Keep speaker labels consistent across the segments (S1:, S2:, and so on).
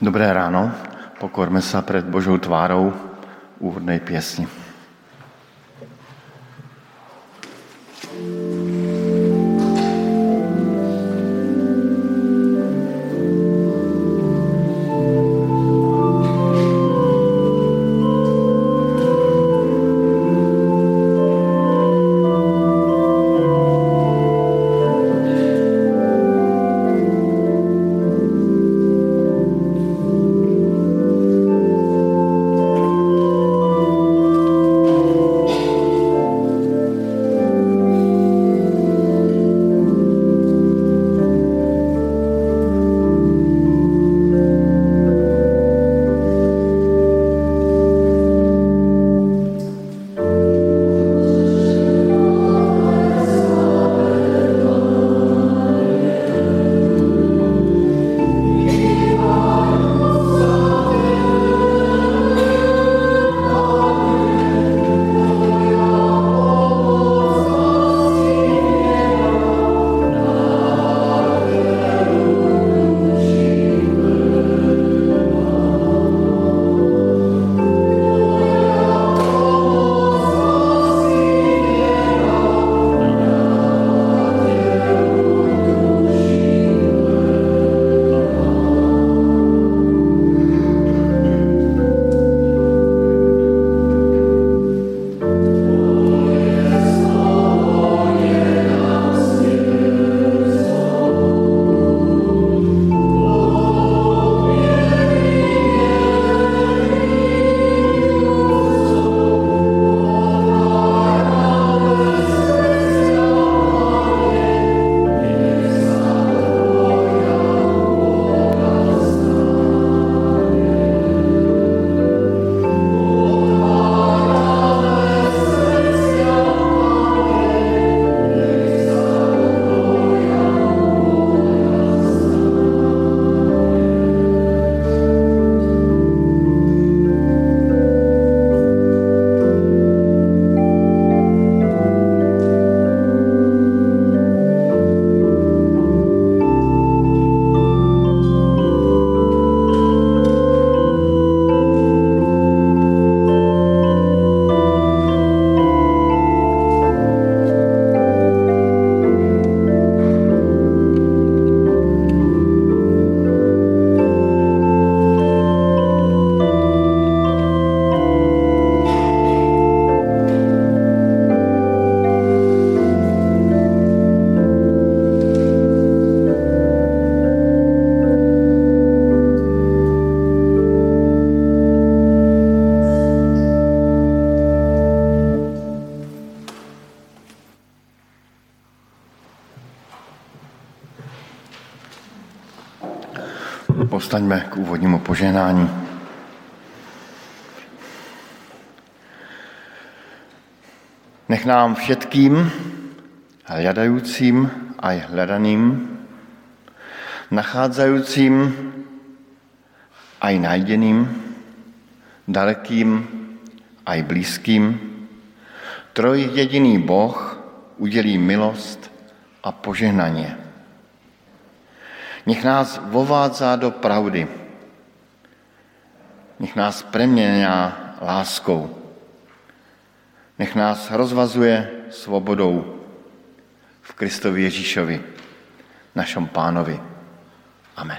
S1: Dobré ráno, pokorme sa pred Božou tvárou úvodnej piesni. Povstaňme k úvodnímu požehnání. Nech nám všetkým, hľadajúcim aj hľadaným, nachádzajúcim aj nájdeným, dalekým aj blízkym, trojjediný Boh udelí milosť a požehnanie. Nech nás vovádza do pravdy. Nech nás premieňa láskou. Nech nás rozvazuje svobodou v Kristovi Ježíšovi, našom Pánovi. Amen.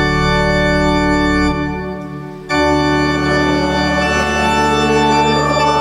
S2: Oh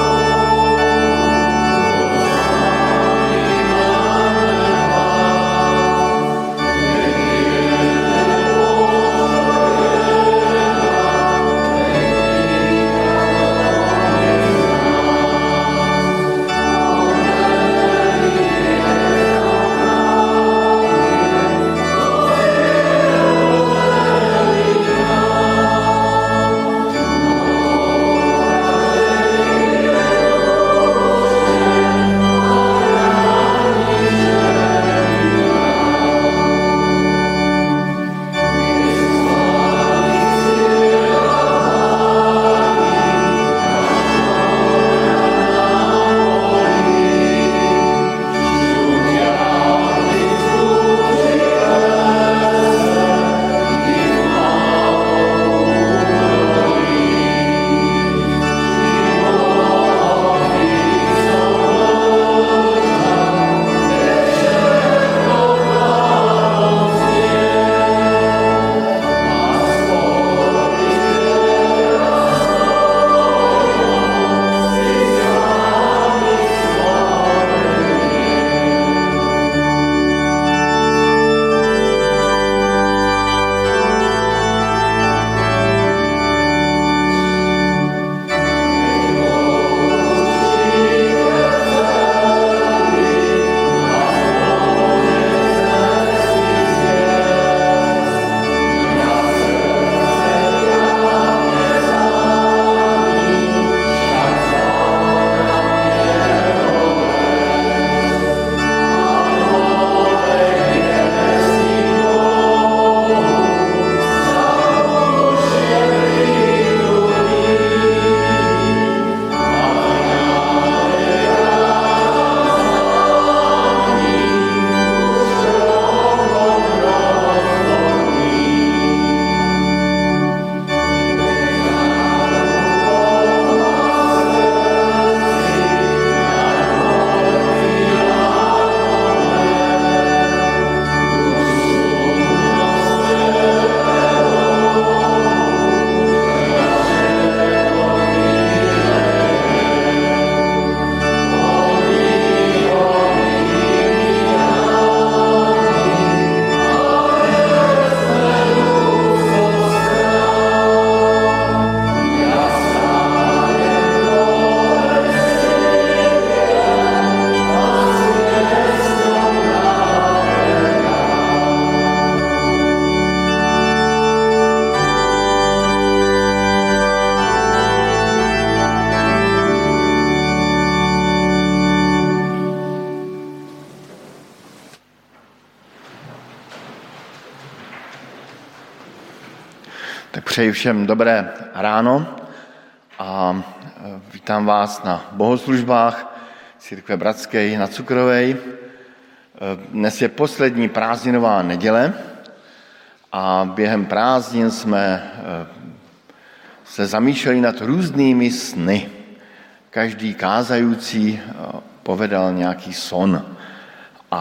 S1: Tak přeji všem dobré ráno a vítám vás na bohoslužbách Církve Bratské na Cukrovej. Dnes je poslední prázdninová neděle a během prázdnin jsme se zamýšleli nad různými sny. Každý kázající povedal nějaký son a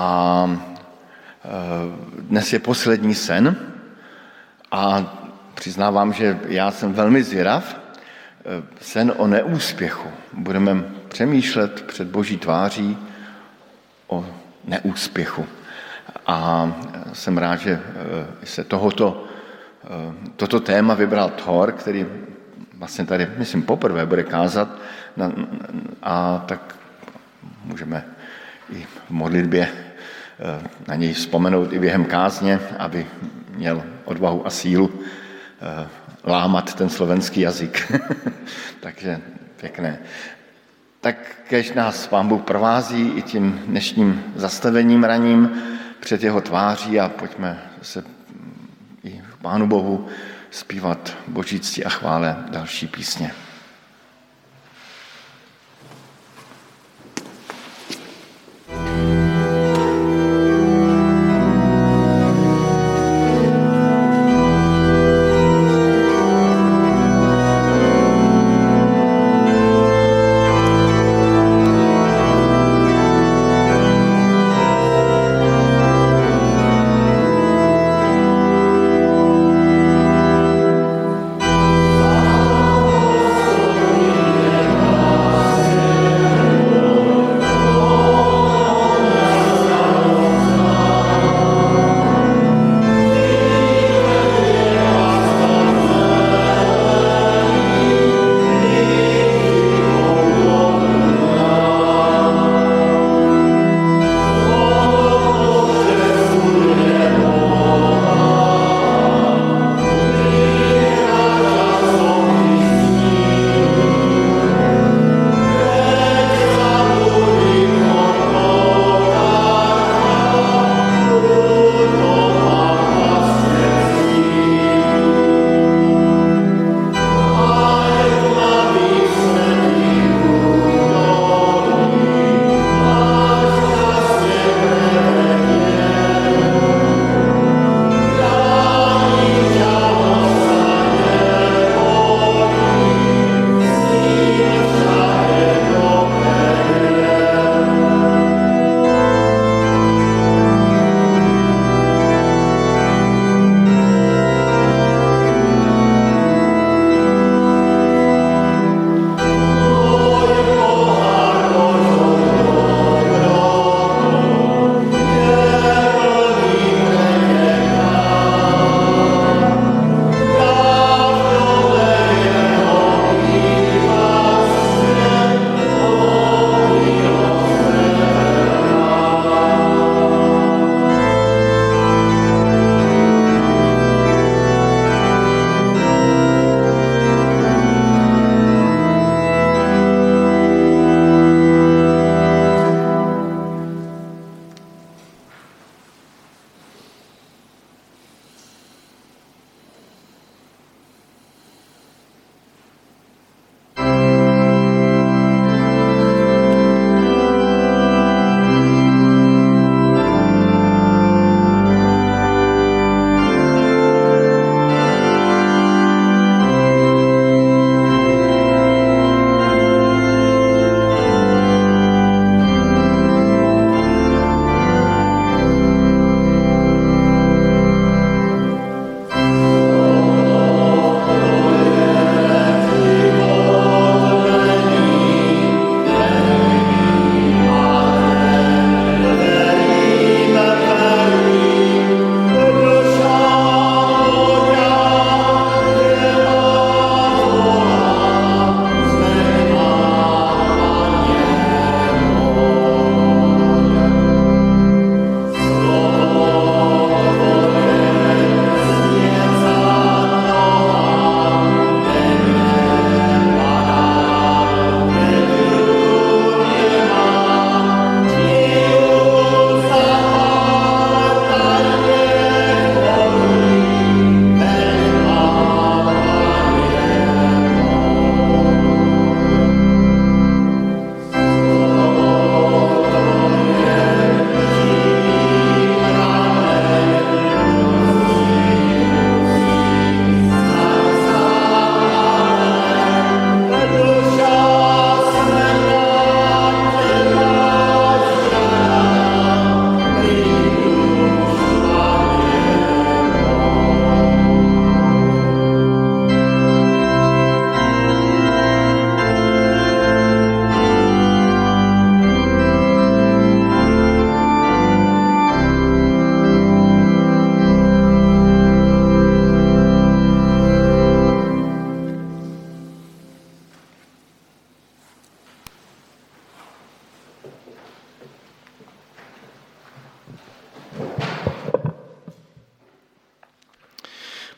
S1: dnes je poslední sen a přiznávám, že já jsem velmi zvědav. Sen o neúspěchu. Budeme přemýšlet před Boží tváří o neúspěchu. A jsem rád, že se toto téma vybral Thor, který vlastně tady, myslím, poprvé bude kázat. A tak můžeme i v modlitbě na něj vzpomenout i během kázně, aby měl odvahu a sílu lámat ten slovenský jazyk. Takže pěkné. Tak kež nás Pán Bůh provází i tím dnešním zastavením raním před jeho tváří a pojďme se i Pánu Bohu zpívat Boží cti a chvále další písně.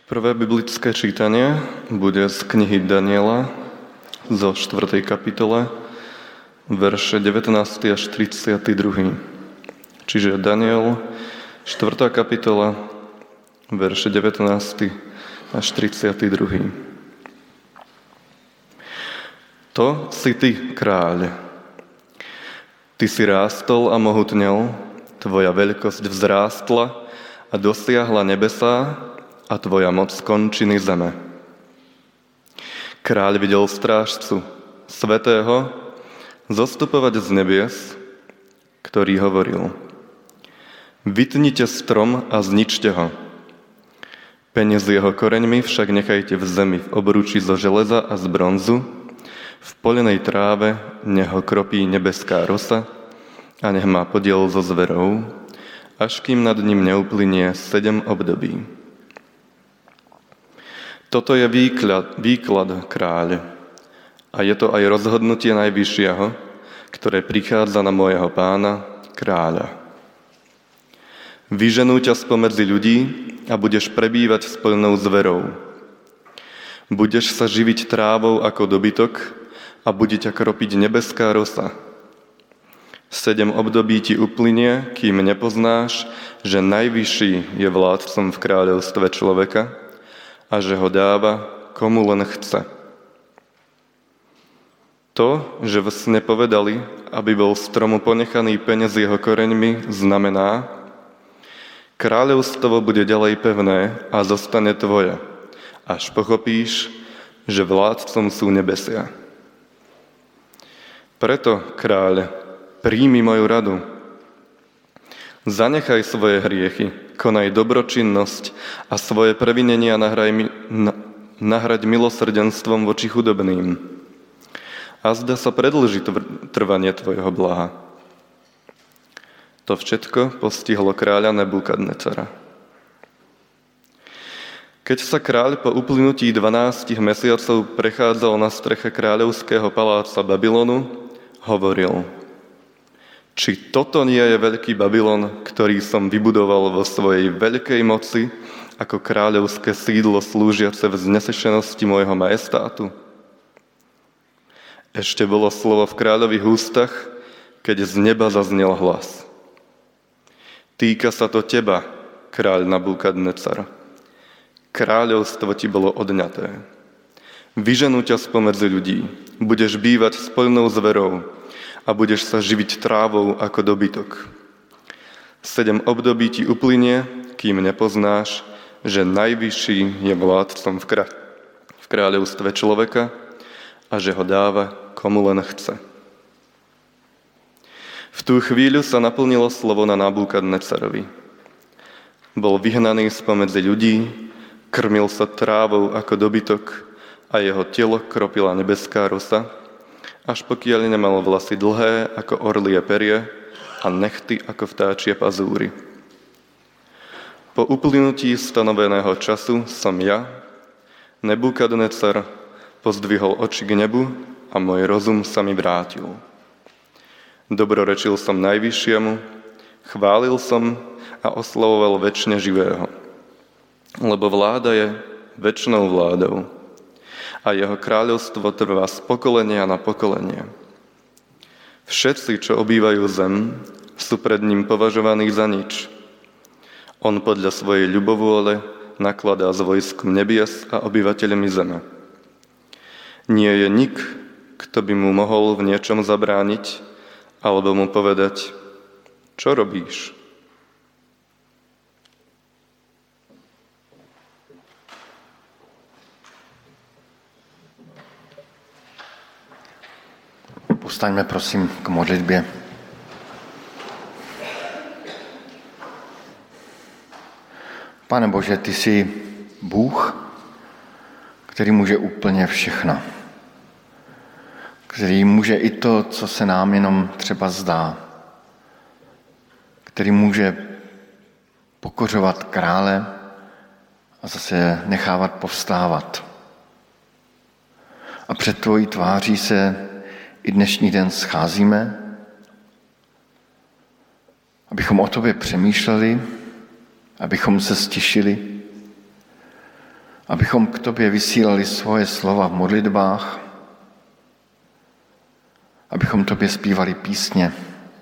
S2: Prvé biblické čítanie bude z knihy Daniela zo 4. kapitole, verše 19. až 32. Čiže Daniel, 4. kapitola, verše 19. až 32. To si ty, kráľ. Ty si rástol a mohutnel, tvoja veľkosť vzrástla a dosiahla nebesá a tvoja moc končiny zeme. Kráľ videl strážcu, svätého, zostupovať z nebies, ktorý hovoril: Vytnite strom a zničte ho. Peň s jeho koreňmi však nechajte v zemi v obruči zo železa a z bronzu, v polenej tráve nech ho kropí nebeská rosa a nech má podiel so zverou, až kým nad ním neuplynie 7 období. Toto je výklad kráľ a je to aj rozhodnutie Najvyššieho, ktoré prichádza na môjho pána, kráľa. Vyženú ťa spomedzi ľudí a budeš prebývať s plnou zverou. Budeš sa živiť trávou ako dobytok a bude ťa kropiť nebeská rosa. 7 období ti uplynie, kým nepoznáš, že Najvyšší je vládcom v kráľovstve človeka a že ho dáva, komu len chce. To, že v sne povedali, aby bol stromu ponechaný peň s jeho koreňmi, znamená: kráľovstvo bude ďalej pevné a zostane tvoje, až pochopíš, že vládcom sú nebesia. Preto, kráľ, príjmi moju radu. Zanechaj svoje hriechy, konaj dobročinnosť a svoje previnenia nahraď milosrdenstvom voči chudobným. A zda sa predĺži trvanie tvojho blaha. To všetko postihlo kráľa Nebukadnecara. Keď sa kráľ po uplynutí 12 mesiacov prechádzal na streche kráľovského paláca Babylonu, hovoril: Či toto nie je veľký Babylon, ktorý som vybudoval vo svojej veľkej moci ako kráľovské sídlo slúžiace v znesešenosti môjho majestátu? Ešte bolo slovo v kráľových ústach, keď z neba zaznel hlas: Týka sa to teba, kráľ Nabukadnecar. Kráľovstvo ti bolo odňaté. Vyženú ťa spomedzi ľudí, budeš bývať s plnou zverou a budeš sa živiť trávou ako dobytok. 7 období ti uplynie, kým nepoznáš, že Najvyšší je vládcom v kráľovstve človeka a že ho dáva, komu len chce. V tú chvíľu sa naplnilo slovo na Nabukadnecarovi. Bol vyhnaný spomedzi ľudí, krmil sa trávou ako dobytok a jeho telo kropila nebeská rosa, až pokiaľ nemal vlasy dlhé ako orlie perie a nechty ako vtáčie pazúry. Po uplynutí stanoveného času som ja, Nebukadnecar, pozdvihol oči k nebu a môj rozum sa mi vrátil. Dobrorečil som Najvyššiemu, chválil som a oslavoval večne živého, lebo vláda je večnou vládou a jeho kráľovstvo trvá z pokolenia na pokolenie. Všetci, čo obývajú zem, sú pred ním považovaní za nič. On podľa svojej ľubovôle nakladá s vojskom nebies a obyvateľmi zeme. Nie je nik, kto by mu mohol v niečom zabrániť, alebo mu povedať: Čo robíš?
S1: Povstaňme prosím k modlitbě. Pane Bože, ty jsi Bůh, který může úplně všechno. Který může i to, co se nám jenom třeba zdá. Který může pokořovat krále a zase nechávat povstávat. A před tvojí tváří se i dnešní den scházíme, abychom o tobě přemýšleli, abychom se stišili, abychom k tobě vysílali svoje slova v modlitbách, abychom tobě zpívali písně,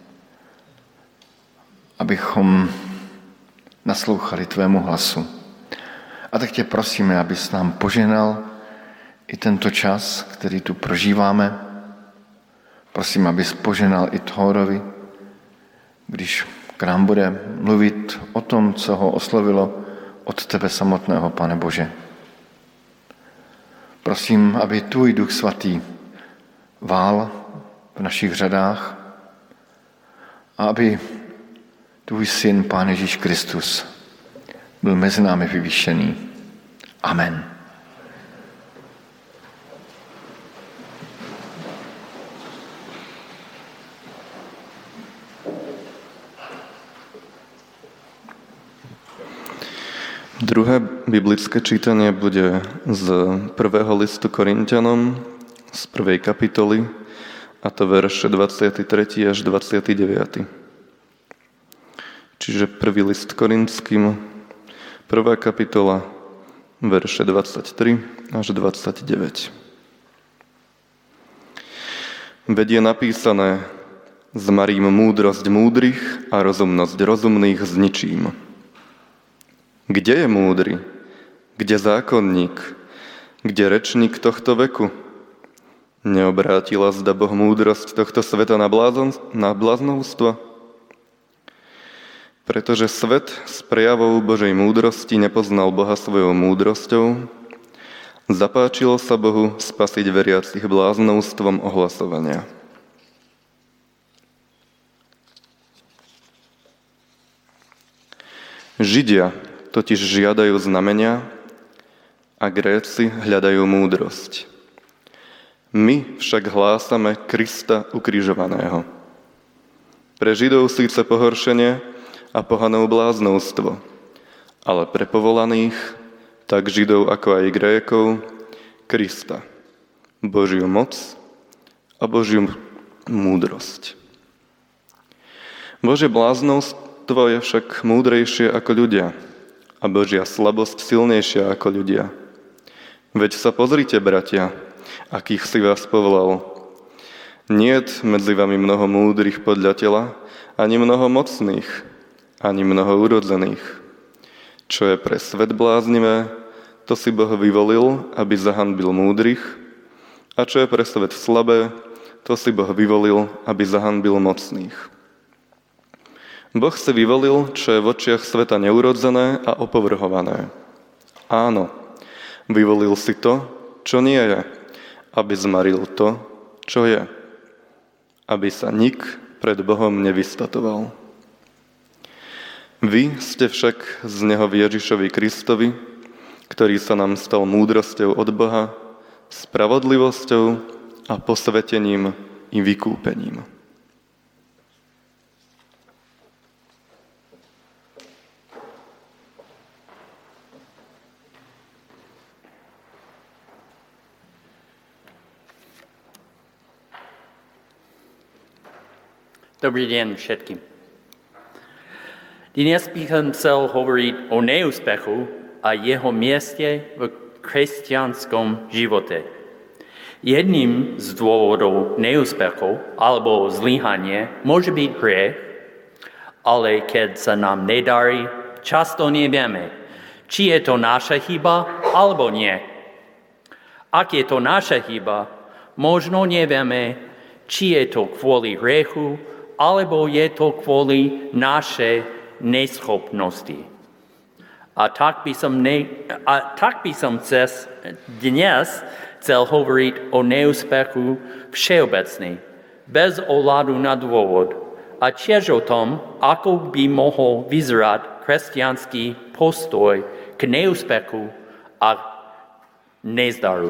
S1: abychom naslouchali tvému hlasu. A tak tě prosíme, abys nám požehnal i tento čas, který tu prožíváme. Prosím, abys požehnal i Thorovi, když k nám bude mluvit o tom, co ho oslovilo od tebe samotného, Pane Bože. Prosím, aby tvůj Duch Svatý vál v našich řadách a aby tvůj syn, Pán Ježíš Kristus, byl mezi námi vyvýšený. Amen.
S2: Druhé biblické čítanie bude z prvého listu Korinťanom, z 1. kapitoly, a to verše 23. až 29. Čiže prvý list Korinským, 1. kapitola, verše 23 až 29. Veď je napísané: zmarím múdrosť múdrych a rozumnosť rozumných zničím. Kde je múdry? Kde zákonník? Kde rečník tohto veku? Neobrátila zda Boh múdrosť tohto sveta na bláznovstvo? Pretože svet s prejavou Božej múdrosti nepoznal Boha svojou múdrosťou, zapáčilo sa Bohu spasiť veriacich bláznovstvom ohlasovania. Židia totiž žiadajú znamenia a Gréci hľadajú múdrosť. My však hlásame Krista ukrižovaného. Pre Židov síce pohoršenie a pohanov bláznovstvo, ale pre povolaných, tak Židov ako aj Grékov, Krista, Božiu moc a Božiu múdrosť. Božie bláznovstvo je však múdrejšie ako ľudia a Božia slabosť silnejšia ako ľudia. Veď sa pozrite, bratia, akých si vás povolal. Niet medzi vami mnoho múdrych podľa tela, ani mnoho mocných, ani mnoho urodzených. Čo je pre svet bláznivé, to si Boh vyvolil, aby zahanbil múdrych, a čo je pre svet slabé, to si Boh vyvolil, aby zahanbil mocných. Boh si vyvolil, čo je v očiach sveta neurodzené a opovrhované. Áno, vyvolil si to, čo nie je, aby zmaril to, čo je, aby sa nik pred Bohom nevystatoval. Vy ste však z Neho v Ježišovi Kristovi, ktorý sa nám stal múdrosťou od Boha, spravodlivosťou a posvetením i vykúpením.
S3: Dobrý den všetkým. Dnes bych chcel hovoriť o neúspechu a jeho mieste v kresťanskom živote. Jedným z dôvodov neúspechu alebo zlyhanie môže byť hriech, ale keď sa nám nedarí, často nevieme, či je to naša chyba alebo nie. Ak je to naša chyba, možno nevieme, či je to kvôli hriechu, alebo je to kvôli našej neschopnosti. A tak by som dnes chcel hovoriť o neúspechu všeobecne, bez ohľadu na dôvod, a tiež o tom, ako by mohol vyzerať kresťanský postoj k neúspechu a nezdaru.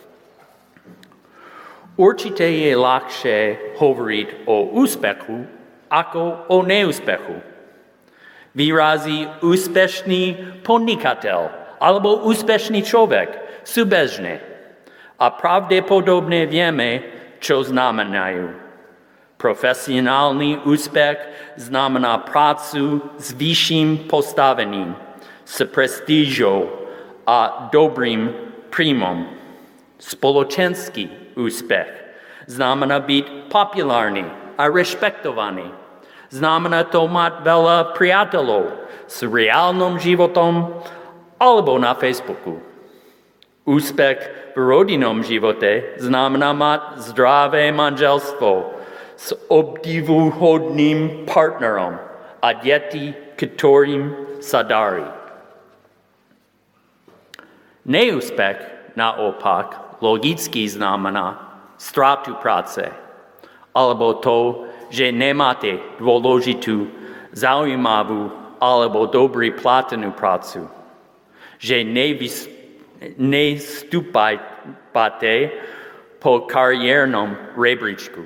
S3: Určite je ľahšie hovoriť o úspechu ako o neúspechu. Výrazy úspešný podnikateľ alebo úspešný človek sú bežné a pravdepodobne vieme, čo znamenajú. Profesionálny úspech znamená prácu s vyšším postavením, s prestížou a dobrým príjmom. Spoločenský úspech znamená byť populárny a rešpektovaný. Znamená to mať veľa priateľov s reálnym životom alebo na Facebooku. Úspech v rodinnom živote znamená mať zdravé manželstvo s obdivuhodným partnerom a deti, ktorým sa darí. Neúspech naopak logicky znamená stratu práce, alebo to, že nemáte dôležitú, zaujímavú alebo dobrý platenú prácu, že nestúpate po kariérnom rebríčku.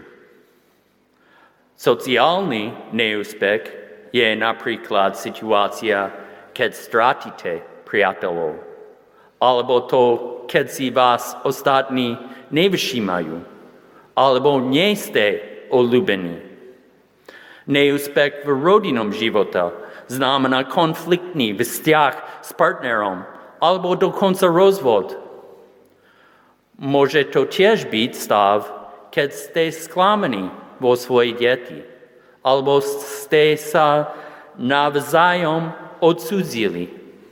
S3: Sociálny neúspech je napríklad situácia, keď stratíte priateľov, alebo to, keď si vás ostatní nevšímajú, alebo nie ste obľúbení. Neúspech v rodinnom živote znamená konfliktný vzťah s partnerom, alebo dokonca rozvod. Môže to tiež byť stav, keď ste sklamaní vo svojich deti, alebo ste sa navzájom odsudzili.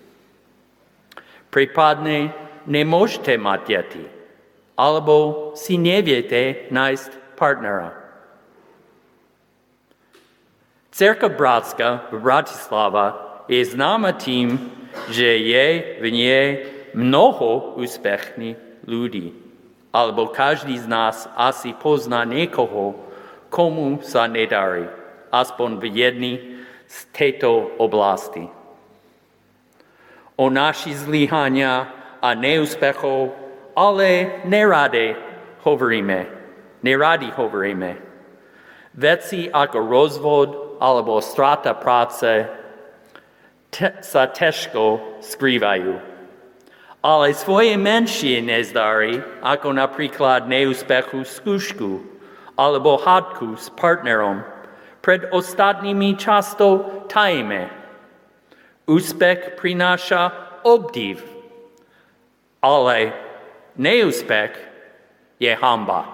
S3: Prípadne nemôžete mať deti, alebo si neviete nájsť partnera. Cirkev Bratská v Bratislava je známa tým, že je v nej mnoho úspešných ľudí. Alebo každý z nás asi pozná niekoho, komu sa nedarí, aspoň v jednej z tejto oblasti. O naši zlyhania a neúspechov ale neradi hovoríme. Veci ako rozvod alebo strata práce sa ťažko skrývajú. Ale svoje menšie nezdary, ako napríklad neúspechu skúšku alebo hádku s partnerom, pred ostatnými často tajíme. Úspech prináša obdiv, ale neúspech je hanba.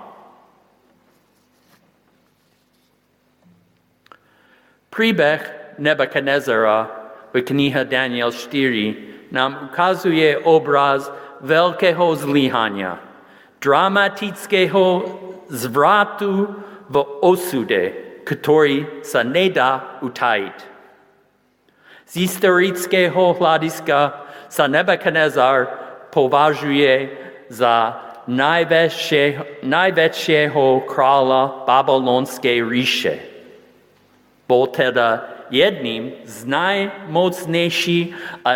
S3: Príbeh Nebukadnezara v knihe Daniel 4 nám ukazuje obraz veľkého zlyhania, dramatického zvratu v osude, ktorý sa nedá utajiť. Z historického hľadiska sa Nebukadnezar považuje za najväčšieho kráľa Babylonskej ríše. Bol teda jedným z najmocnejších a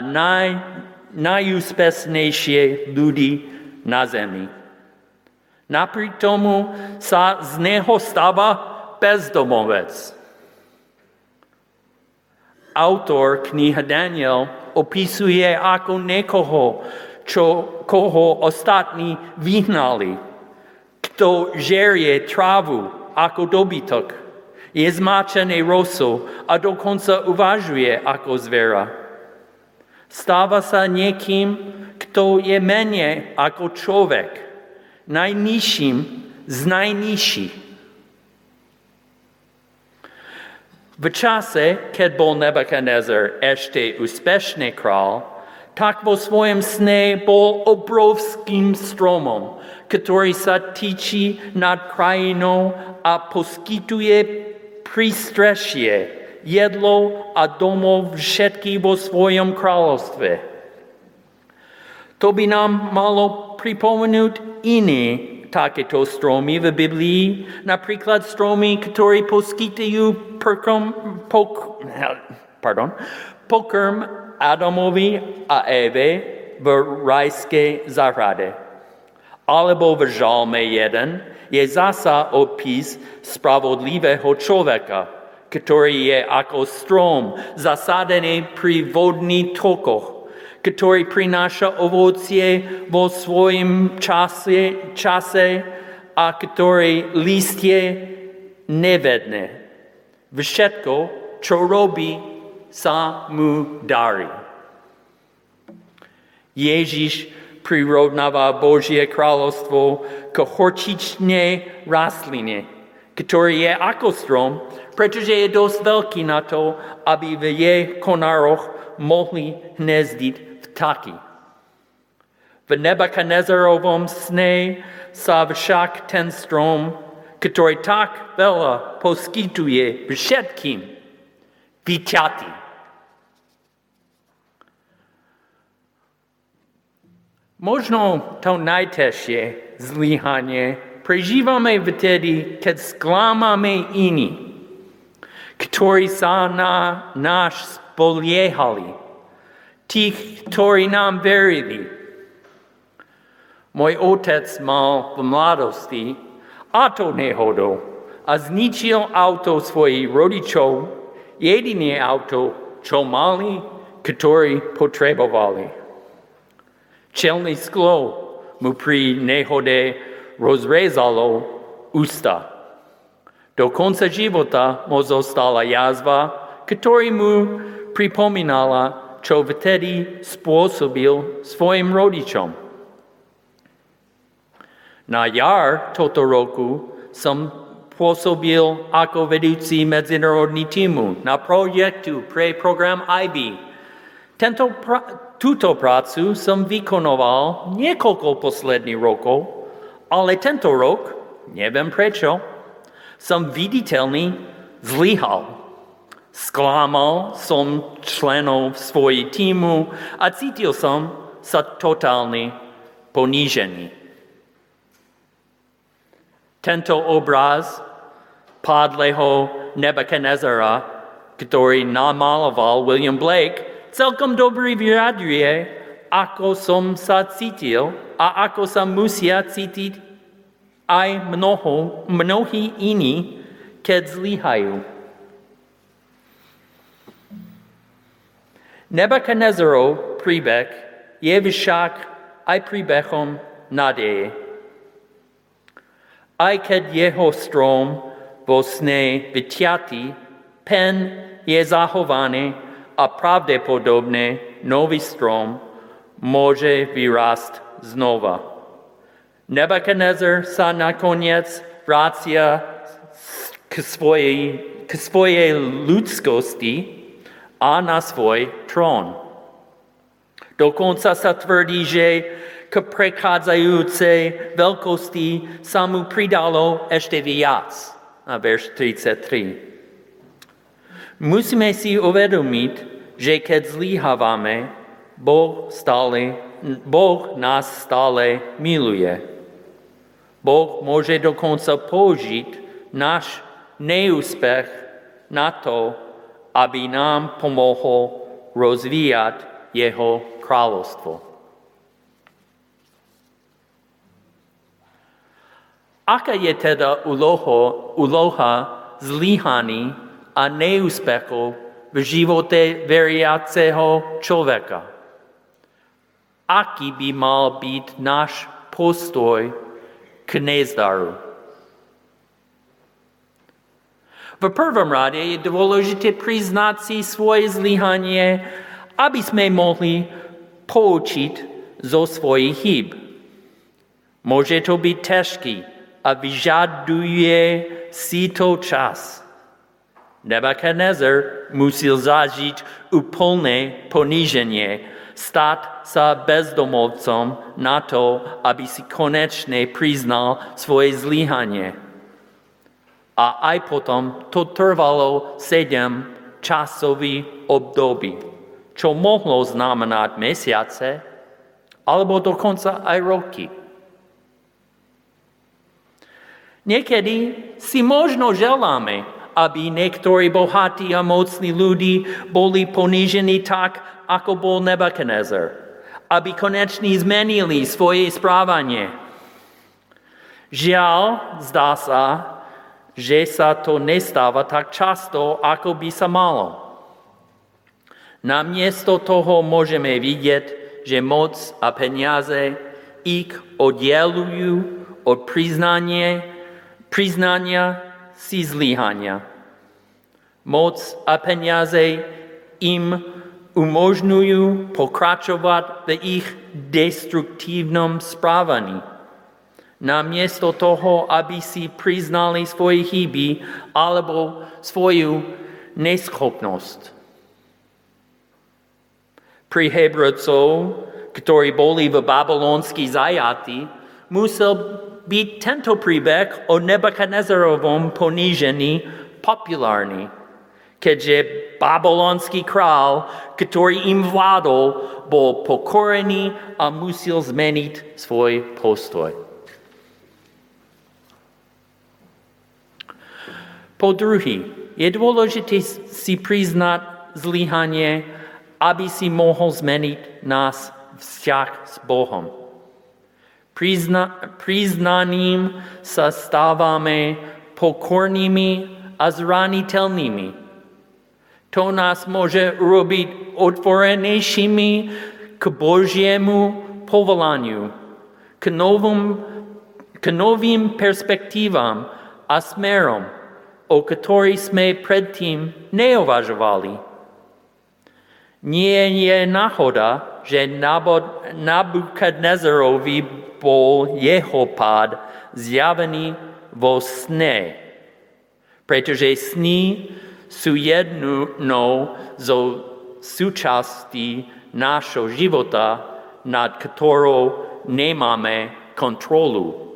S3: najúspešnejších ľudí na zemi. Napriek tomu sa z neho stáva bezdomovec. Autor knihy Daniel opisuje ako niekoho, koho ostatní vyhnali, kto žerie trávu ako dobytok, je zmáčený rosou a dokonca uvažuje ako zviera. Stáva sa niekým, kto je menej ako človek, najnižším z najnižších. V čase, keď bol Nebukadnezar ešte úspešný král, tak vo svojom sne bol obrovským stromom, ktorý sa týči nad krajinou a poskytuje prístrešie, jedlo a domov všetky vo svojom kráľovstve. To by nám malo pripomenúť iné takéto stromy v Biblii, napríklad stromy, ktoré poskytujú pokrm Adamovi a Eve v rajskej záhrade. Alebo v Žalme 1 je zasa opis spravodlivého človeka, ktorý je ako strom zasadený pri vodných tokoch, ktorý prináša ovocie vo svojom čase a ktorý listie nevedne. Všetko, čo robí, sa mu darí. Ježíš prirovnává Božie kráľovstvo k horčičnej rastline, ktorý je ako strom, pretože je dosť veľký na to, aby v jej konároch mohli hniezdiť vtáky. V Nebukadnezarovom sne sa však ten strom, ktorý tak veľa poskytuje všetkým, vyťatý. Možno to najťažšie zlyhanie prežívame vtedy, keď sklamáme iní, ktorí sa na nás spoliehali, tých, ktorí nám verili. Môj otec mal v mladosti autonehodu a zničil auto svojich rodičov, jediné auto, čo mali, ktoré potrebovali. Čelné sklo mu pri nehode rozrezalo ústa. Do konca života mu zostala jazva, ktorá mu pripomínala, čo vtedy spôsobil svojim rodičom. Na jar tohto roku som pôsobil ako vedúci medzinárodný tímu na projektu pre program IB. Túto prácu som vykonoval niekoľko posledných rokov, ale tento rok, neviem prečo, som viditeľný zlyhal. Sklamal som členov svojej tímu a cítil som sa totálne ponížený. Tento obraz padlého Nebukadnezara, ktorý namaloval William Blake, celkom dobre vyjadruje, ako som sa cítil a ako sa musia cítiť aj mnohí iní, keď zlyhajú. Nebukadnezarov príbeh je však aj príbehom nádeje. Aj keď jeho strom vo sne vyťatý, pen je zachovaný a pravdepodobne nový strom môže vyrásť znova. Nebukadnezar sa nakoniec vracia k svojej ľudskosti a na svoj trón. Dokonca sa tvrdí, že k prechádzajúcej veľkosti sa mu pridalo ešte viac. A verš 33. Musíme si uvedomiť, že keď zlyhávame, Boh nás stále miluje. Boh môže dokonca použiť náš neúspech na to, aby nám pomohol rozvíjať jeho kráľovstvo. Aká je teda úloha zlyhaní a neúspechov v živote veriaceho človeka? Aký by mal byť náš postoj k nezdaru? V prvom rade je dôležité priznať si svoje zlyhanie, aby sme mohli poučiť zo svojich chýb. Môže to byť ťažké a vyžaduje si to čas. Nebukadnezar musel zažiť úplné poníženie, stať sa bezdomovcom na to, aby si konečne priznal svoje zlyhanie. A aj potom to trvalo 7 časových období, čo mohlo znamenať mesiace, alebo dokonca aj roky. Niekedy si možno želáme, aby niektorí bohatí a mocní ľudí boli ponížení tak, ako bol Nebukadnezar, aby konečne zmenili svoje správanie. Žiaľ, zdá sa, že sa to nestáva tak často, ako by sa malo. Namiesto toho môžeme vidieť, že moc a peniaze ich oddelujú od priznania si zlyhania. Moc a peniaze im umožňují pokračovat v jejich destruktivním správaní. Namiesto toho, aby si priznali svoje chyby alebo svoju neschopnosť. Pri Hebrejcov, ktorí boli v babylonskí zajatí, musel byť tento príbeh o Nebukadnezarovom ponížení populárny, keďže babylonský král, ktorý im vládol, bol pokorený a musel zmeniť svoj postoj. Po druhý, je dôležité si priznať zlyhanie, aby si mohol zmeniť náš vzťah s Bohom. Priznaním sa stávame pokornými a zraniteľnými. To nás môže urobiť otvorenejšími k Božiemu povolaniu, k novým perspektívam a smerom, o ktorých sme predtým neuvažovali. Nie je náhoda, že Nabukadnezarovi bol jeho pád zjavený vo sne, pretože sny sú jednou zo súčastí nášho života, nad ktorou nemáme kontrolou.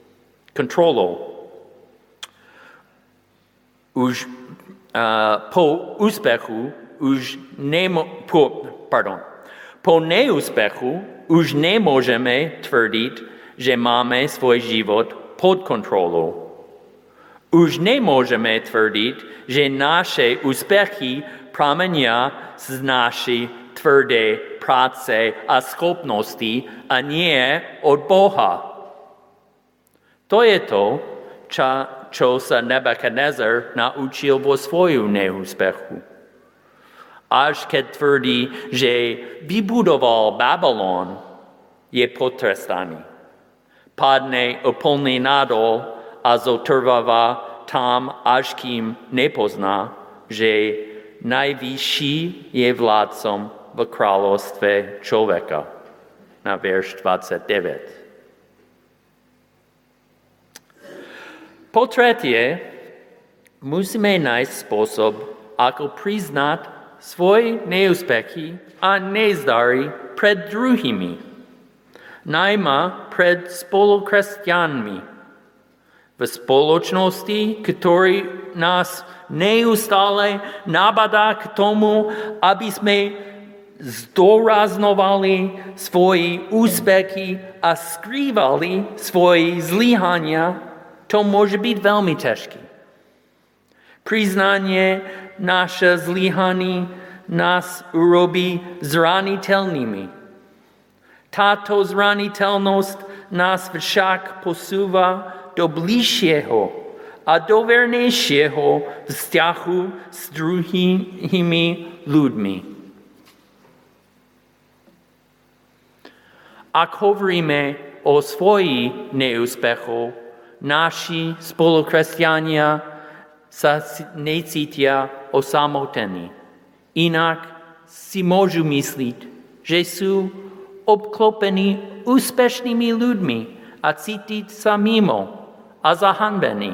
S3: Po neúspechu už nemôžeme tvrdiť, že máme svoj život pod kontrolou. Už nemôžeme tvrdiť, že naše úspechy pramenia z našej tvrdej práce a schopnosti a nie od Boha. To je to, čo sa Nebukadnezar naučil vo svojom neúspechu. Až keď tvrdí, že vybudoval Babylon, je potrestaný. Padne úplne nadol a zotrváva tam, až kým nepozná, že najvyšší je vládcom v kráľovstve človeka. Na verš 29. Po tretie, musíme nájsť spôsob, ako priznať svoje neúspechy a nezdary pred druhými, najmä pred spolukresťanmi. V spoločnosti, ktorý nás neustále nabadá k tomu, aby sme zdôrazňovali svoje úspechy a skrývali svoje zlyhania, to môže byť veľmi ťažké. Priznanie naše zlyhaní nás urobí zraniteľnými. Táto zraniteľnosť nás však posúva do bližšieho a dovernejšieho vzťahu s druhými ľuďmi. Ak hovoríme o svojich neúspechoch, naši spolukresťania sa necítia osamotení. Inak si môžu myslieť, že sú obklopení úspešnými ľuďmi a cítiť sa mimo a zahanbení.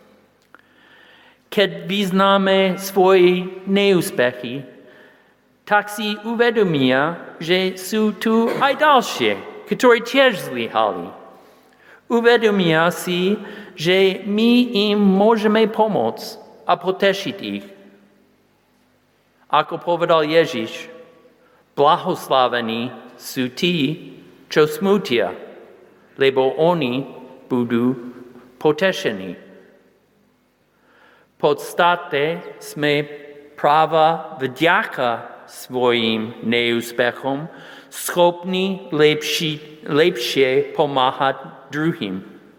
S3: Keď vyznáme svoje neúspechy, tak si uvedomia, že sú tu aj ďalšie, ktorí tiež zlyhali. Uvedomia si, že my im môžeme pomôcť a potešiť ich. Ako povedal Ježiš, blahoslavení sú tí, čo smutia, lebo oni budú potešení. V podstate sme práve vďaka svojim neúspechom schopní lepšie pomáhať druhým.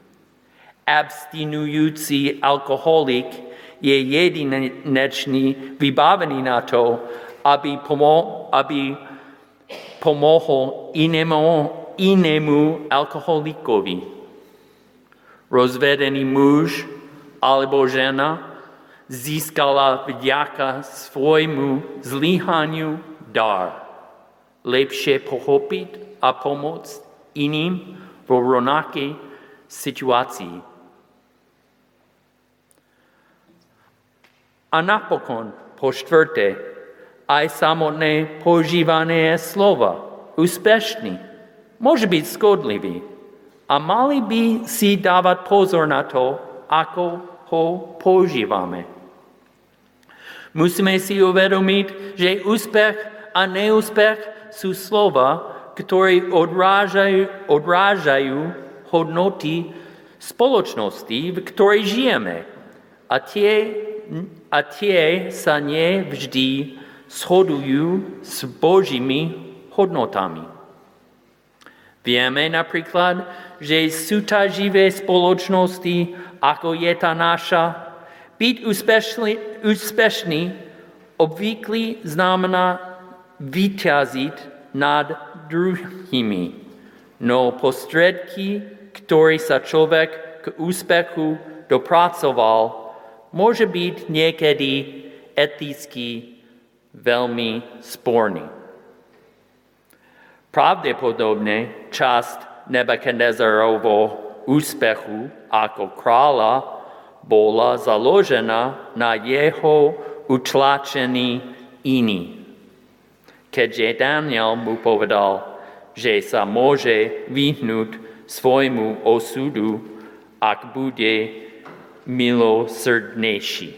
S3: Abstinujúci alkoholik je jedinečný vybavený na to, aby pomohol inému alkoholikovi. Rozvedený muž alebo žena získala vďaka svojmu zlyhaniu dar. Lepšie pochopit a pomoct iným v rovnaké situácii. A napokon, po štvrté, aj samotné používanie slova úspešný môže byť škodlivý a mali by si dávať pozor na to, ako ho používame. Musíme si uvedomiť, že úspech a neúspech sú slova, ktoré odrážajú hodnoty spoločnosti, v ktorej žijeme. A tie sa nevždy shodujú s Božími hodnotami. Vieme napríklad, že súťaživé spoločnosti, ako je tá naša, byť úspešný obvykle znamená vyťaziť nad druhými. No prostredky, ktoré sa človek k úspechu dopracoval, môže byť niekedy eticky veľmi sporný. Pravdepodobne časť Nebukadnezarovho úspechu ako kráľa bola založená na jeho utlačení iní. Keďže Daniel mu povedal, že sa môže vyhnúť svojmu osudu, ak bude milosrdnejší.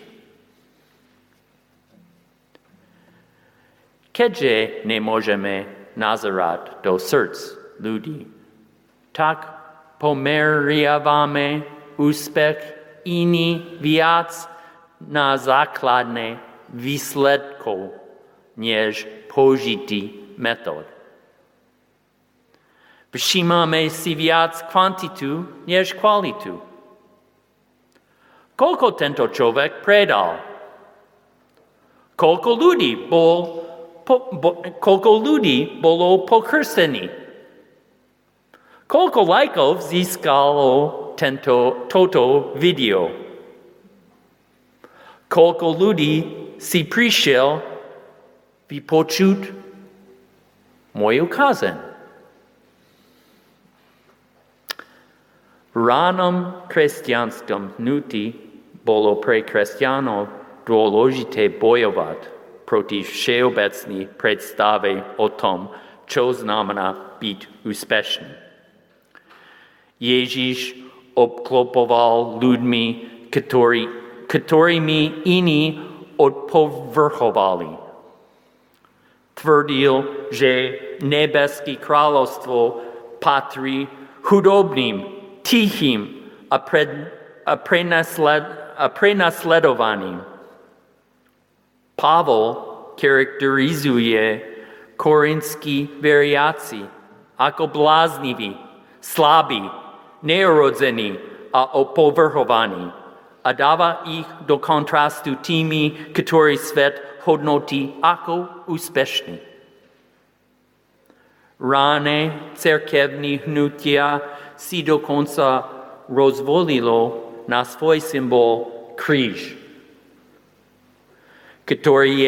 S3: Keďže nemôžeme nazerať do srdc ľudí, tak pomeriavame úspech iný viac na základné výsledkov, než použitý metód. Všímame si viac kvantitu, než kvalitu. Koľko tento človek predal? Koľko ľudí bolo pokrstených? Koľko lajkov získalo toto video? Koľko ľudí si prišiel vypočuť moju kázeň? V ránom kresťanskom hnutí bolo pre kresťanov dôležité bojovať proti všeobecnej predstave o tom, čo znamená byť úspešný. Ježiš obklopoval ľuďmi, ktorými iní odpovrchovali. Tvrdil, že nebeské kráľovstvo patrí chudobným, tichým a prenasledovaným. Pavol charakterizuje korinskí veriaci ako blázniví, slabí, neurodzení a opovrhovaní a dáva ich do kontrastu tými, ktorí svet hodnotí ako úspešný. Rané cirkevní hnutia si dokonca rozvolilo na svoj symbol kríž, ktorý je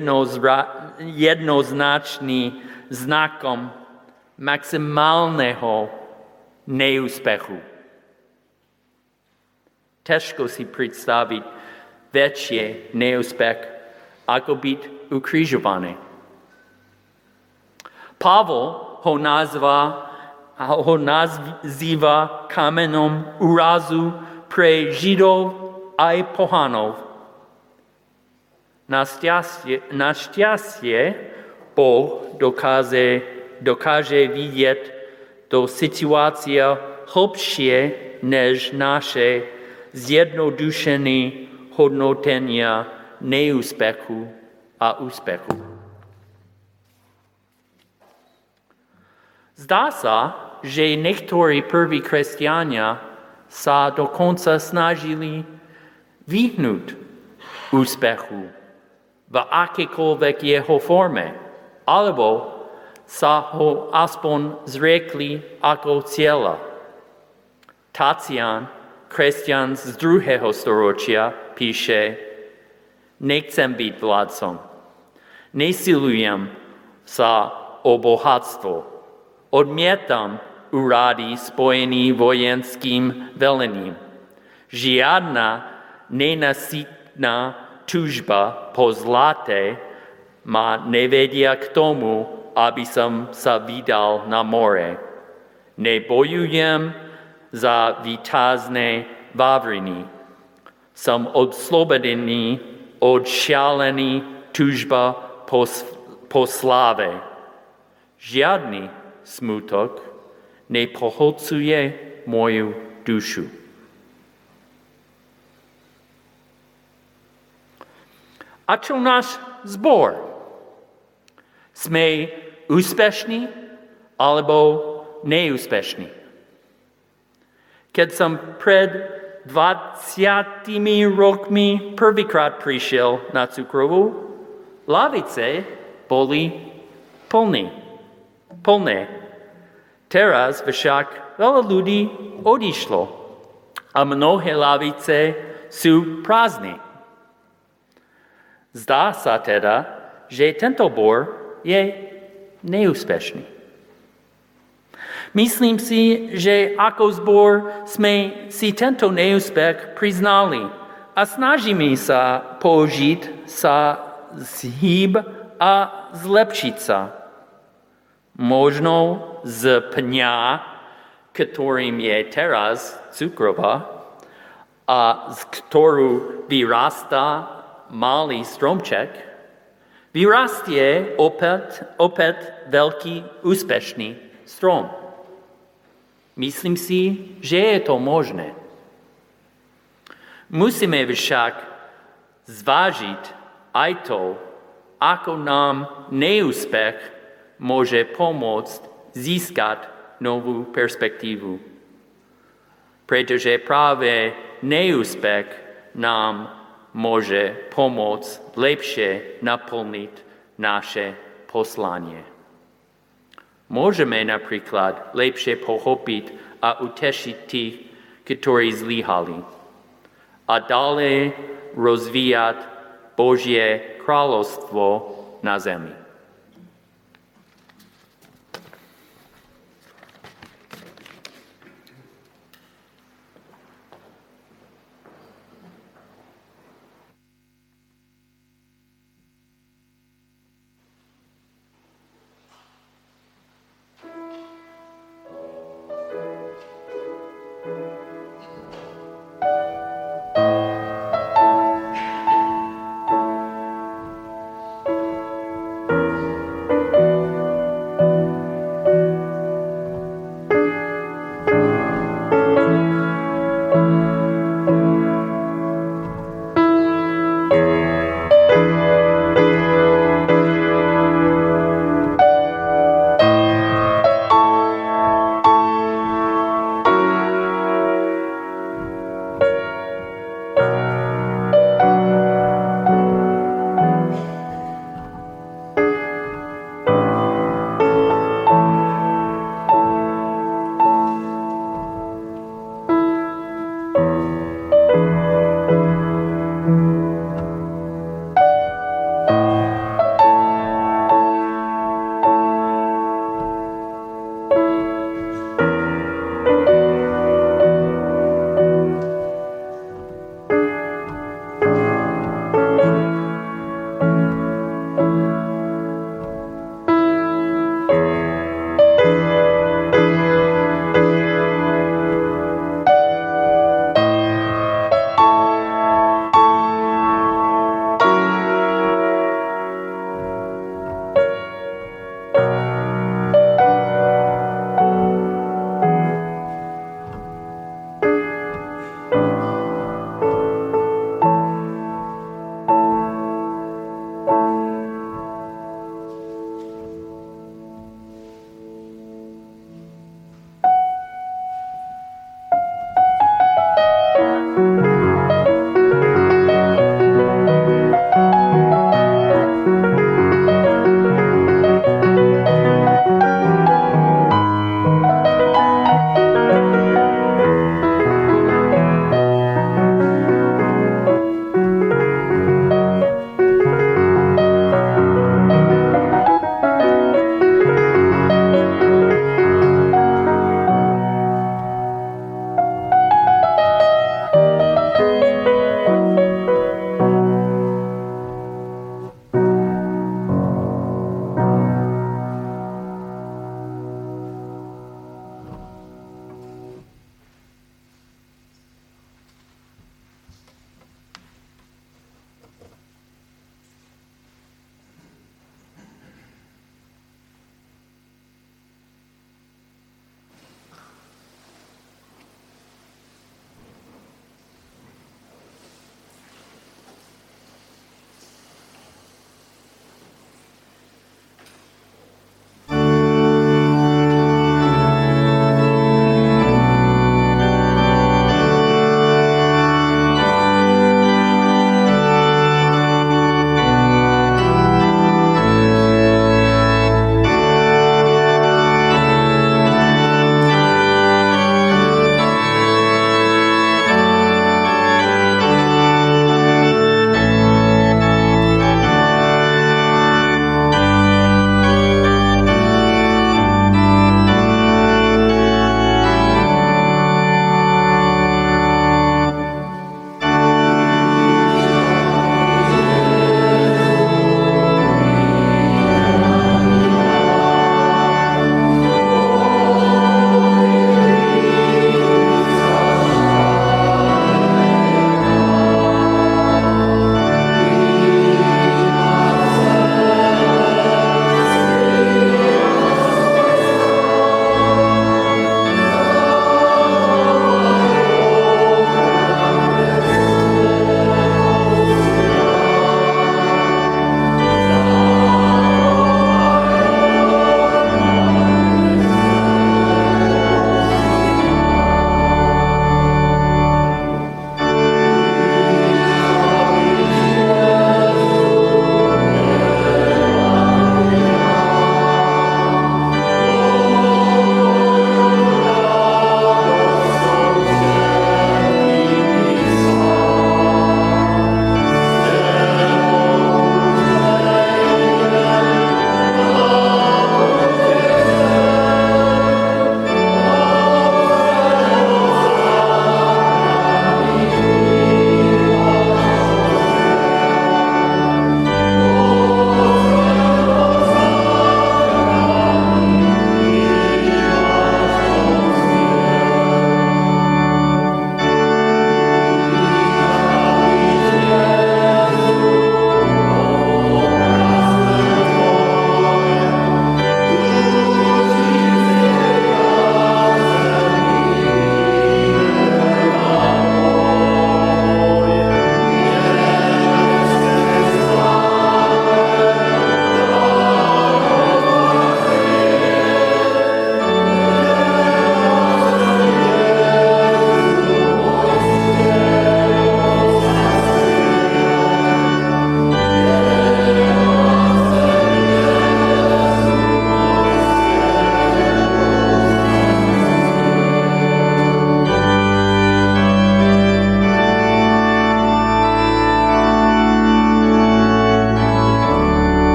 S3: jednoznačný znakom maximálneho neúspechu. Ťažko si predstaviť väčšie neúspech, ako byť ukrižovaný. Pavol ho nazýva kameňom úrazu pre Židov aj pohanov. Našťastie Boh dokáže vidieť do situácie hlbšie než naše zjednodušené hodnotenia neúspechu a úspechu. Zdá sa, že niektorí prví kresťania sa dokonca snažili vyhnúť úspechu v akékoľvek jeho forme, alebo sa ho aspoň zriekli ako cieľa. Tatian, kresťan z 2. storočia, píše: Nechcem byť vládcom, nesilujem sa o bohatstvo. Odmietam úrady spojený vojenským velením. Žiadna nenasytná túžba po zlate ma nevedia k tomu, aby som sa vydal na more. Nebojujem za víťazné vavriny. Som odslobodený od šialený túžba po sláve. Žiadny smutok nepohlcuje moju dušu. A čo náš zbor? Sme úspešní alebo neúspešní? Keď som pred 20 rokmi prvýkrát prišiel na cukrovú, lavice boli plné. Teraz však veľa ľudí odišlo a mnohé lavice sú prázdne. Zdá sa teda, že tento zbor je neúspešný. Myslím si, že ako zbor sme si tento neúspech priznali a snažíme sa použiť sa zhyb a zlepšiť sa. Možno z pňa, ktorým je teraz cukrová a z ktorú vyrastá malý stromček, vyrastie opäť veľký úspešný strom. Myslím si, že je to možné. Musíme však zvážiť aj to, ako nám neúspech môže pomôcť získať novú perspektívu. Pretože práve neúspech nám môže pomôcť lepšie naplniť naše poslanie. Môžeme napríklad lepšie pochopiť a utešiť tých, ktorí zlyhali, a ďalej rozvíjať Božie kráľovstvo na zemi.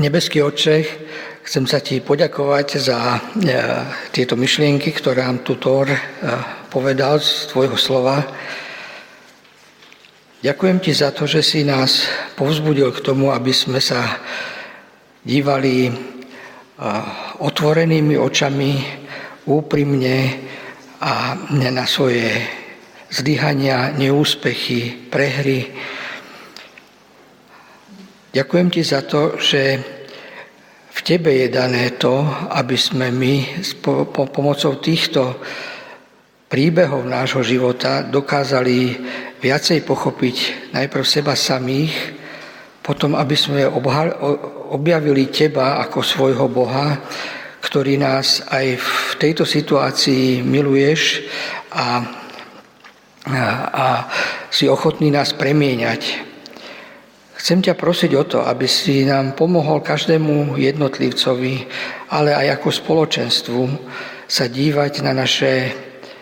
S4: Nebeský Otče, chcem sa Ti poďakovať za tieto myšlienky, ktoré nám tu Tór povedal z Tvojho slova. Ďakujem Ti za to, že si nás povzbudil k tomu, aby sme sa dívali otvorenými očami, úprimne a na svoje zlyhania, neúspechy, prehry. Ďakujem Ti za to, že v Tebe je dané to, aby sme my pomocou týchto príbehov nášho života dokázali viacej pochopiť najprv seba samých, potom aby sme objavili Teba ako svojho Boha, ktorý nás aj v tejto situácii miluješ a si ochotný nás premieňať. Chcem ťa prosiť o to, aby si nám pomohol každému jednotlivcovi, ale aj ako spoločenstvu sa dívať na naše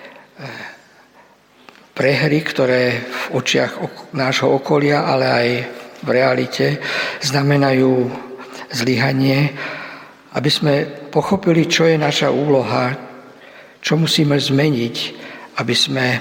S4: prehry, ktoré v očiach nášho okolia, ale aj v realite znamenajú zlyhanie, aby sme pochopili, čo je naša úloha, čo musíme zmeniť, aby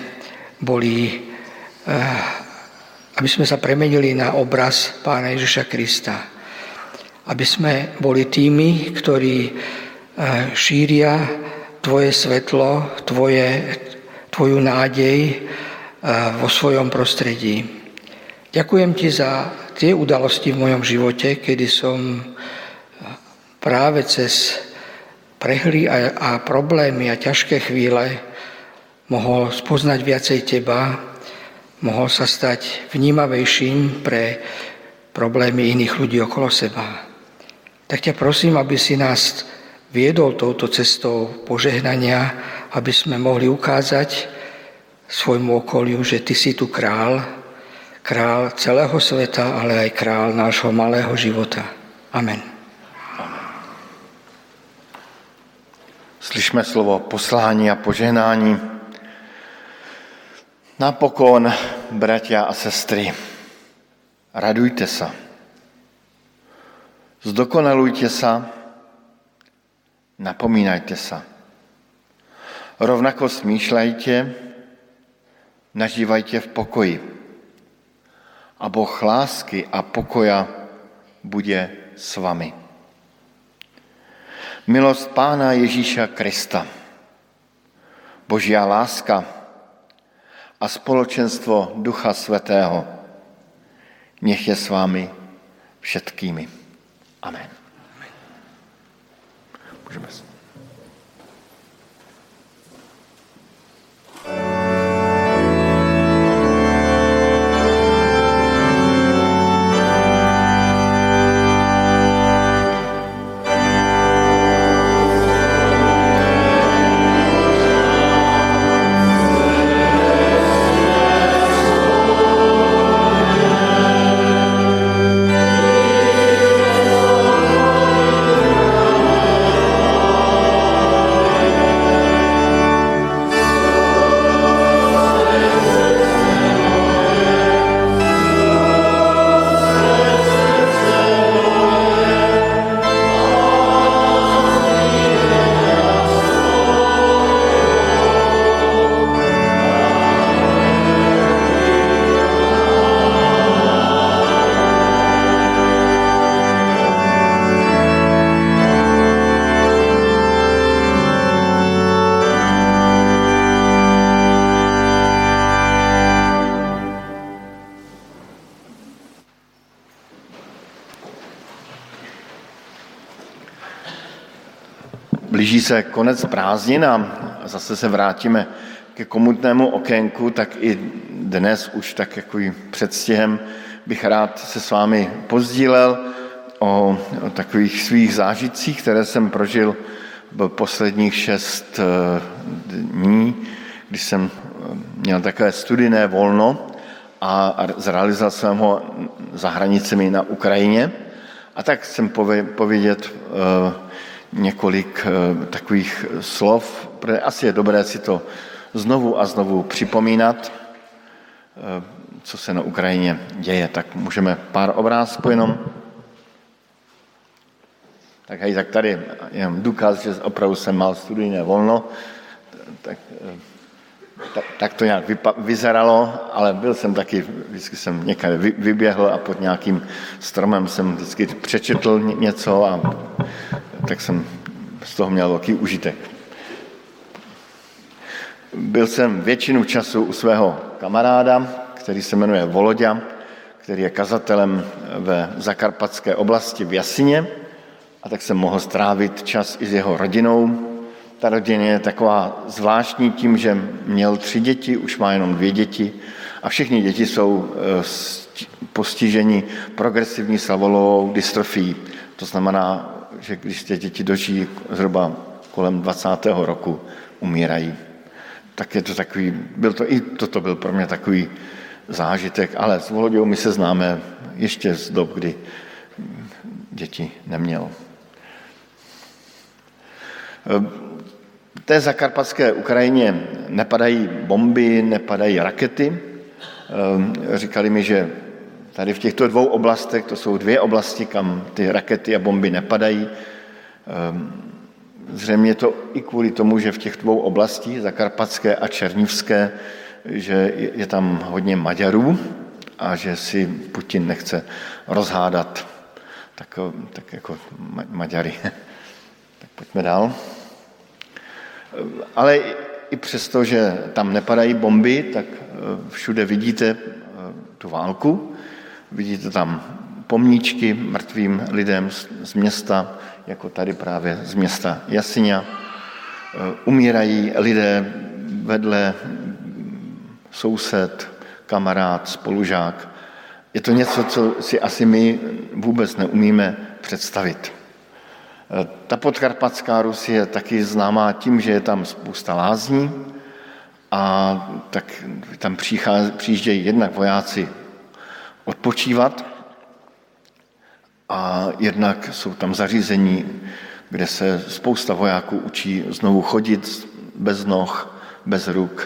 S4: sme sa premenili na obraz Pána Ježiša Krista. Aby sme boli tými, ktorí šíria Tvoje svetlo, Tvoju nádej vo svojom prostredí. Ďakujem Ti za tie udalosti v mojom živote, kedy som práve cez prehry a problémy a ťažké chvíle mohol spoznať viacej Teba, mohol sa stať vnímavejším pre problémy iných ľudí okolo seba. Tak ťa prosím, aby si nás viedol touto cestou požehnania, aby sme mohli ukázať svojmu okoliu, že Ty si tu král celého sveta, ale aj král nášho malého života. Amen.
S1: Slyšme slovo poslání a požehnání. Napokon, bratia a sestry, radujte sa. Zdokonalujte sa, napomínajte sa. Rovnako smýšľajte, nažívajte v pokoji. A Boh lásky a pokoja bude s vami. Milosť Pána Ježíša Krista, Božia láska a spoločenstvo Ducha Svätého nech je s vámi všetkými. Amen. Môžeme sa. Blíží se konec prázdnin a zase se vrátíme ke komutnému okénku, tak i dnes už tak jako předstihem bych rád se s vámi pozdílel o takových svých zážitcích, které jsem prožil v posledních 6 dní, když jsem měl takové studijné volno a zrealizoval jsem ho za hranicemi na Ukrajině. A tak chcem povědět několik takových slov, protože asi je dobré si to znovu a znovu připomínat, co se na Ukrajině děje. Tak můžeme pár obrázků jenom. Tak hej, tak tady jenom důkaz, že opravdu jsem mal studijné volno, tak to nějak vyzeralo, ale byl jsem taky, vždycky jsem někde vyběhl a pod nějakým stromem jsem vždycky přečetl něco a tak jsem z toho měl velký užitek. Byl jsem většinu času u svého kamaráda, který se jmenuje Voloďa, který je kazatelem ve zakarpatské oblasti v Jasině, a tak jsem mohl strávit čas i s jeho rodinou. Ta rodina je taková zvláštní tím, že měl 3 děti, už má jenom 2 děti a všechny děti jsou postiženi progresivní slavolovou dystrofií. To znamená, že když ty děti dožijí zhruba kolem 20. roku, umírají. Tak je to takový, toto byl pro mě takový zážitek, ale s Voloďou my se známe ještě z dob, kdy děti neměl. V té zakarpatské Ukrajině nepadají bomby, nepadají rakety. Říkali mi, že tady v těchto 2 oblastech, to jsou 2 oblasti, kam ty rakety a bomby nepadají. Zřejmě to i kvůli tomu, že v těch 2 oblastí, zakarpatské a černivské, že je tam hodně Maďarů a že si Putin nechce rozhádat tak jako Maďary. Tak pojďme dál. Ale i přesto, že tam nepadají bomby, tak všude vidíte tu válku, vidíte tam pomníčky mrtvým lidem z města, jako tady právě z města Jasiňa. Umírají lidé vedle, soused, kamarád, spolužák. Je to něco, co si asi my vůbec neumíme představit. Ta podkarpatská Rus je taky známá tím, že je tam spousta lázní a tak tam přijíždějí jednak vojáci odpočívat a jednak jsou tam zařízení, kde se spousta vojáků učí znovu chodit bez noh, bez ruk,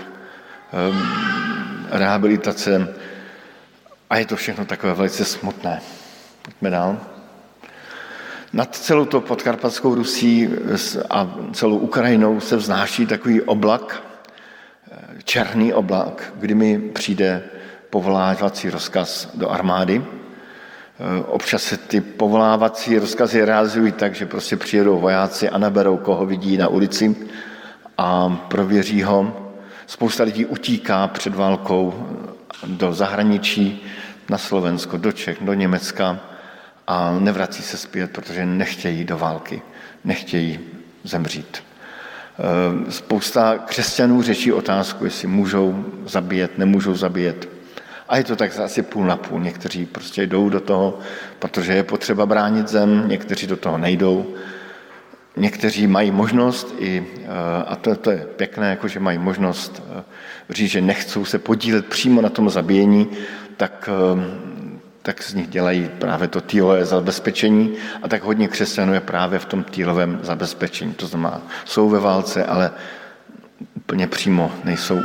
S1: rehabilitace a je to všechno takové velice smutné. Pojďme dál. Nad celou to podkarpatskou Rusí a celou Ukrajinou se vznáší takový oblak, černý oblak, kdy mi přijde povolávací rozkaz do armády. Občas se ty povolávací rozkazy realizují tak, že prostě přijedou vojáci a naberou, koho vidí na ulici a prověří ho. Spousta lidí utíká před válkou do zahraničí, na Slovensko, do Čech, do Německa a nevrací se zpět, protože nechtějí do války, nechtějí zemřít. Spousta křesťanů řeší otázku, jestli můžou zabíjet, nemůžou zabíjet. A je to tak asi půl na půl. Někteří prostě jdou do toho, protože je potřeba bránit zem, někteří do toho nejdou. Někteří mají možnost, a to je pěkné, jako že mají možnost říct, že nechcou se podílet přímo na tom zabíjení, tak z nich dělají právě to týlové zabezpečení a tak hodně křesťanů je právě v tom týlovém zabezpečení. To znamená, jsou ve válce, ale úplně přímo nejsou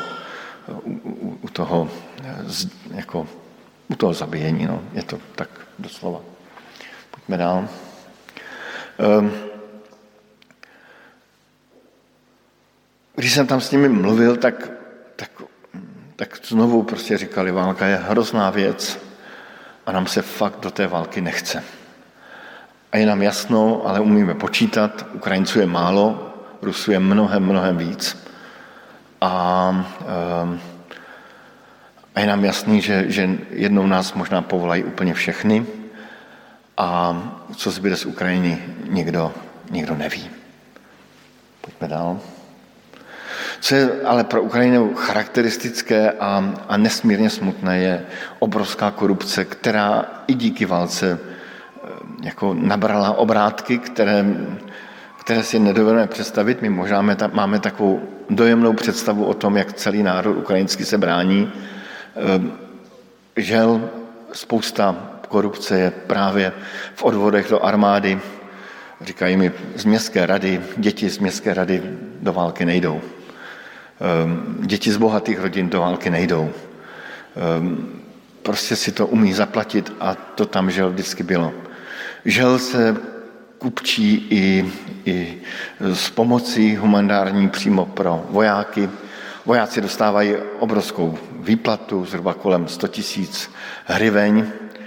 S1: u toho zabíjení. No. Je to tak doslova. Pojďme dál. Když jsem tam s nimi mluvil, tak znovu prostě říkali, válka je hrozná věc a nám se fakt do té války nechce. A je nám jasno, ale umíme počítat, Ukrajinců je málo, Rusů je mnohem víc. A je nám jasný, že jednou nás možná povolají úplně všechny a co zbyde z Ukrajiny, nikdo neví. Pojďme dál. Co je ale pro Ukrajinu charakteristické a nesmírně smutné, je obrovská korupce, která i díky válce jako nabrala obrátky, které si nedovedeme představit. My možná máme takovou dojemnou představu o tom, jak celý národ ukrajinský se brání. Žel spousta korupce je právě v odvodech do armády. Říkají mi z městské rady, děti z městské rady do války nejdou. Děti z bohatých rodin do války nejdou. Prostě si to umí zaplatit a to tam žel vždycky bylo. Žel se kupčí i s pomocí humanitární přímo pro vojáky. Vojáci dostávají obrovskou výplatu, zhruba kolem 100 000 hryveň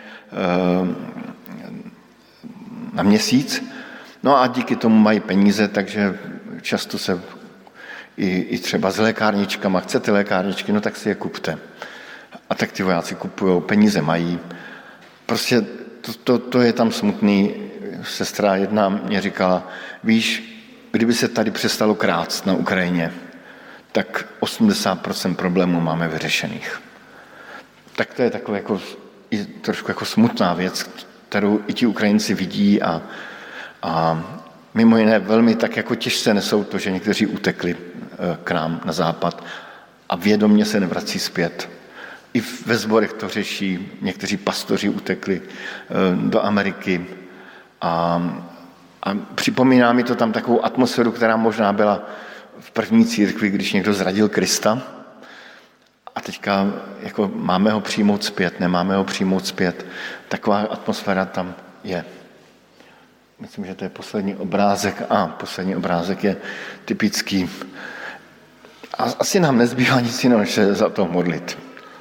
S1: na měsíc. No a díky tomu mají peníze, takže často se i třeba s lékárničkama, chcete lékárničky, no tak si je kupte. A tak ty vojáci kupujou, peníze mají. Prostě to je tam smutný. Sestra jedna mě říkala, víš, kdyby se tady přestalo krást na Ukrajině, tak 80% problémů máme vyřešených. Tak to je takové jako, trošku jako smutná věc, kterou i ti Ukrajinci vidí a mimo jiné velmi tak jako těžce nesou to, že někteří utekli k nám na západ a vědomě se nevrací zpět. I ve sborech to řeší, někteří pastoři utekli do Ameriky a připomíná mi to tam takovou atmosféru, která možná byla v první církvi, když někdo zradil Krista a teďka jako máme ho přijmout zpět, nemáme ho přijmout zpět. Taková atmosféra tam je. Myslím, že to je poslední obrázek. Poslední obrázek je typický. A asi nám nezbývá nic jiného, než se za to modlit.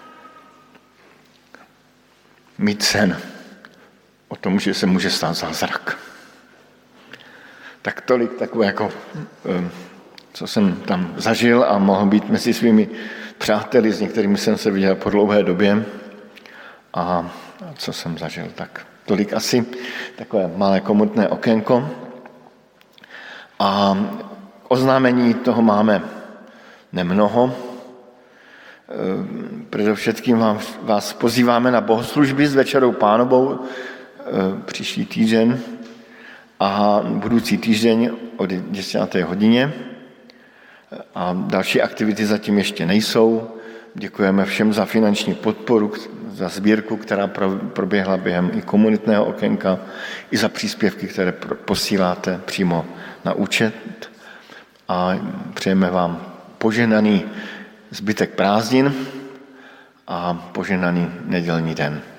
S1: Mít sen o tom, že se může stát zázrak. Tak tolik takové jako, co jsem tam zažil a mohl být mezi svými přáteli, s některými jsem se viděl po dlouhé době a co jsem zažil, tak tolik asi takové malé komutné okénko. A oznámení toho máme nemnoho. Především vás pozýváme na bohoslužby s Večerou Pánovou příští týden a budoucí týden od 10. hodině. A další aktivity zatím ještě nejsou. Děkujeme všem za finanční podporu, za sbírku, která proběhla během i komunitného okénka, i za příspěvky, které posíláte přímo na účet. A přejeme vám požehnaný zbytek prázdnin a požehnaný nedělní den.